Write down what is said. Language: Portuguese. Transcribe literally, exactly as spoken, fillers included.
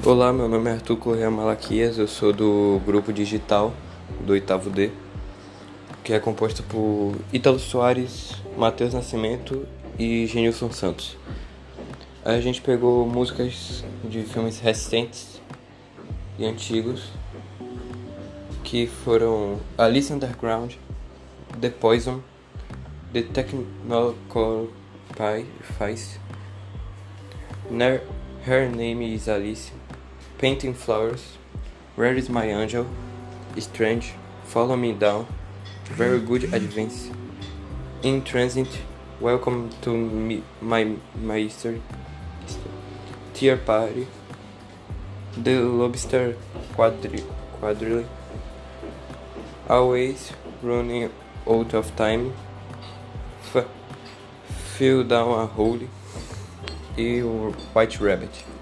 Olá, meu nome é Arthur Correa Malaquias, eu sou do grupo digital do oitavo D, que é composto por Ítalo Soares, Matheus Nascimento e Genilson Santos. A gente pegou músicas de filmes recentes e antigos, que foram Alice Underground, The Poison, The Technical Pies, Her Name is Alice, Painting Flowers, Where is My Angel, Strange, Follow Me Down, Very Good Advance, In Transit, Welcome to me, My Mystery, Tear Party, The Lobster Quadri- Quadrille, Always Running Out of Time, F- Feel Down a Hole e o White Rabbit.